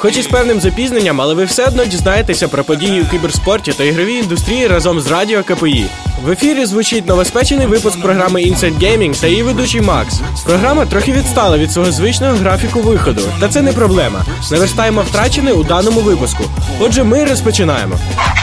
Хоч і з певним запізненням, але ви все одно дізнаєтеся про події у кіберспорті та ігровій індустрії разом з Радіо КПІ. В ефірі звучить новоспечений випуск програми Inside Gaming та її ведучий Макс. Програма трохи відстала від свого звичного графіку виходу, та це не проблема. Наверстаємо втрачене у даному випуску. Отже, ми розпочинаємо.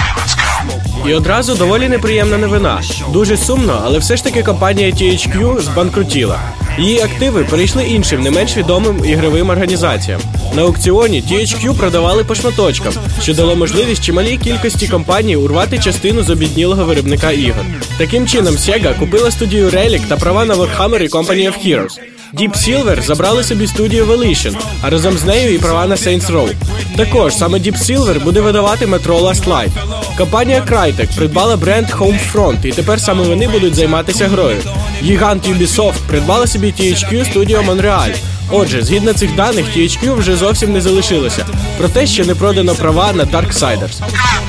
І одразу доволі неприємна новина. Дуже сумно, але все ж таки компанія THQ збанкрутіла. Її активи перейшли іншим, не менш відомим ігровим організаціям. На аукціоні THQ продавали по шматочкам, що дало можливість чималій кількості компаній урвати частину з обіднілого виробника ігор. Таким чином, Sega купила студію Relic та права на Warhammer і Company of Heroes. Deep Silver забрали собі студію Volition, а разом з нею і права на Saints Row. Також саме Deep Silver буде видавати Metro Last Light. Компанія Crytek придбала бренд Homefront, і тепер саме вони будуть займатися грою. Гігант Ubisoft придбала собі THQ студію Montreal. Отже, згідно цих даних, THQ вже зовсім не залишилося. Проте ще не продано права на Darksiders.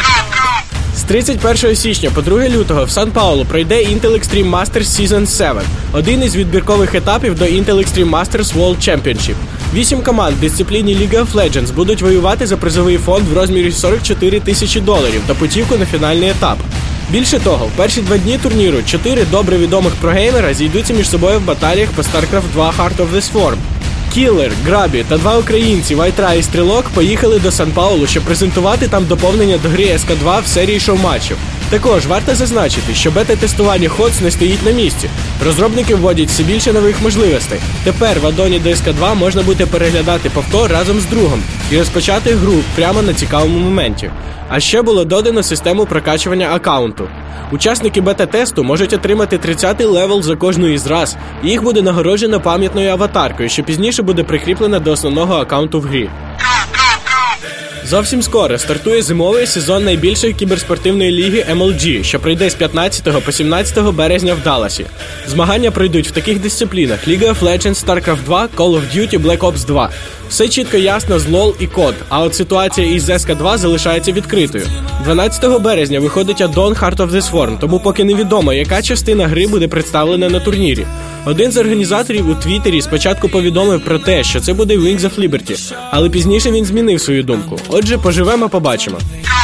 З 31 січня по 2 лютого в Сан-Паулу пройде Intel Extreme Masters Season 7, один із відбіркових етапів до Intel Extreme Masters World Championship. 8 команд в дисципліні League of Legends будуть воювати за призовий фонд в розмірі $44 тисячі та путівку на фінальний етап. Більше того, в перші 2 дні турніру 4 добре відомих прогеймера зійдуться між собою в баталіях по StarCraft 2 Heart of the Swarm. Кілер, Грабі та 2 українці, Вайтра і Стрілок, поїхали до Сан-Паулу, щоб презентувати там доповнення до гри СК2 в серії шоу-матчів. Також варто зазначити, що бета-тестування HOTS не стоїть на місці. Розробники вводять все більше нових можливостей. Тепер в аддоні до СК2 можна буде переглядати повтор разом з другом і розпочати гру прямо на цікавому моменті. А ще було додано систему прокачування аккаунту. Учасники бета-тесту можуть отримати 30-й левел за кожну із раз, і їх буде нагороджено пам'ятною аватаркою, що пізніше буде прикріплена до основного аккаунту в грі. Зовсім скоро стартує зимовий сезон найбільшої кіберспортивної ліги MLG, що пройде з 15 по 17 березня в Далласі. Змагання пройдуть в таких дисциплінах: League of Legends, StarCraft 2, Call of Duty, Black Ops 2. Все чітко ясно з LoL і COD, а от ситуація із SK2 залишається відкритою. 12 березня виходить аддон Heart of the Swarm, тому поки невідомо, яка частина гри буде представлена на турнірі. Один з організаторів у Твіттері спочатку повідомив про те, що це буде Wings of Liberty, але пізніше він змінив свою думку. Отже, поживемо, побачимо.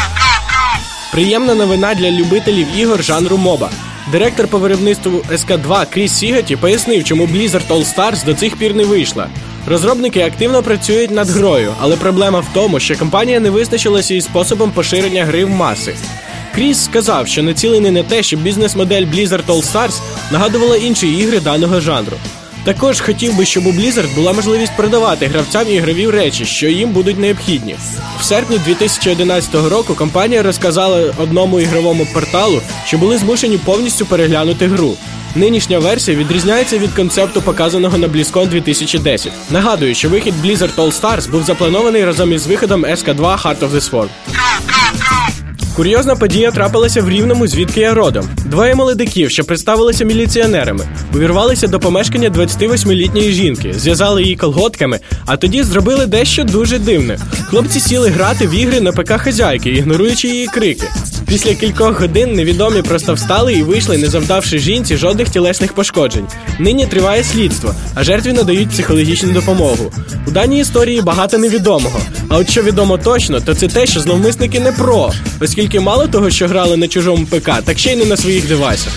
Приємна новина для любителів ігор жанру MOBA. Директор по виробництву SK2 Кріс Сігаті пояснив, чому Blizzard All Stars до цих пір не вийшла. Розробники активно працюють над грою, але проблема в тому, що компанія не визначилася із способом поширення гри в маси. Кріс сказав, що націлений на те, щоб бізнес-модель Blizzard All Stars нагадувала інші ігри даного жанру. Також хотів би, щоб у Blizzard була можливість продавати гравцям ігрові речі, що їм будуть необхідні. В серпні 2011 року компанія розказала одному ігровому порталу, що були змушені повністю переглянути гру. Нинішня версія відрізняється від концепту, показаного на BlizzCon 2010. Нагадую, що вихід Blizzard All Stars був запланований разом із виходом SK2 Heart of the Swarm. Курйозна подія трапилася в Рівному, звідки я родом. 2 молодиків, що представилися міліціонерами, увірвалися до помешкання 28-літньої жінки, зв'язали її колготками, а тоді зробили дещо дуже дивне. Хлопці сіли грати в ігри на ПК хазяйки, ігноруючи її крики. Після кількох годин невідомі просто встали і вийшли, не завдавши жінці жодних тілесних пошкоджень. Нині триває слідство, а жертві надають психологічну допомогу. У даній історії багато невідомого. А от що відомо точно, то це те, що зловмисники не про, оскільки мало того, що грали на чужому ПК, так ще й не на своїх девайсах.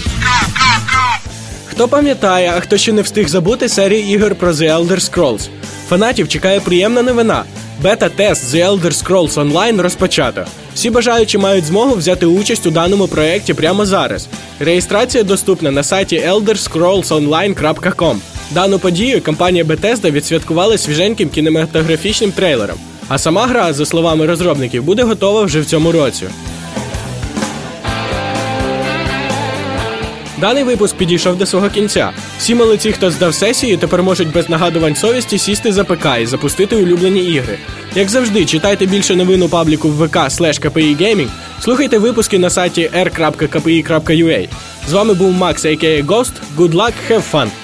Хто пам'ятає, а хто ще не встиг забути серії ігор про The Elder Scrolls? Фанатів чекає приємна новина. Бета-тест The Elder Scrolls Online розпочато. Всі бажаючі мають змогу взяти участь у даному проєкті прямо зараз. Реєстрація доступна на сайті elderscrollsonline.com. Дану подію компанія Bethesda відсвяткувала свіженьким кінематографічним трейлером. А сама гра, за словами розробників, буде готова вже в цьому році. Даний випуск підійшов до свого кінця. Всі молодці, хто здав сесію, тепер можуть без нагадувань совісті сісти за ПК і запустити улюблені ігри. Як завжди, читайте більше новин у пабліку в vk/kpigaming, слухайте випуски на сайті r.kpi.ua. З вами був Макс, a.k.a. Ghost. Good luck, have fun!